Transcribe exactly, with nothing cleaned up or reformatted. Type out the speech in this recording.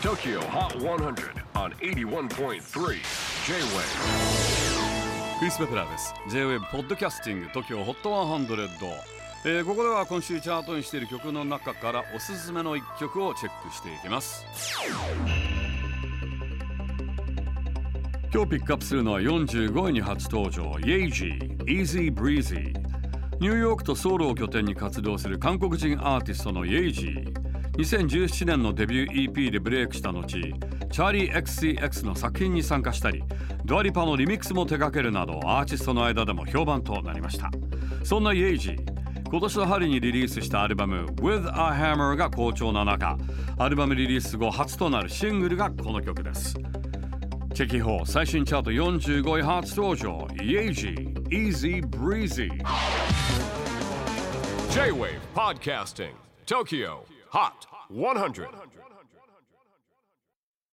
Tokyo Hot one hundred on エイティワンポイントスリー J-Wave。 クリス・ベプラーです。 J-Wave ポッドキャスティング TOKYO ホットひゃく、えー、ここでは今週チャートにしている曲の中からおすすめのいっきょくをチェックしていきます。今日ピックアップするのはよんじゅうごいに初登場 Yeji Easy Breezy。 ニューヨークとソウルを拠点に活動する韓国人アーティストの Yeji。にせんじゅうななねんのデビュー イーピー でブレイクした後、チャーリー エックスシーエックス の作品に参加したり、ドアリパのリミックスも手掛けるなどアーティストの間でも評判となりました。そんな Yeji、 今年の春にリリースしたアルバム With a Hammer が好調な中、アルバムリリース後初となるシングルがこの曲です。チェキホー最新チャートよんじゅうごい初登場 Yeji Easy Breezy。 J-Wave Podcasting Tokyo Hot one hundred。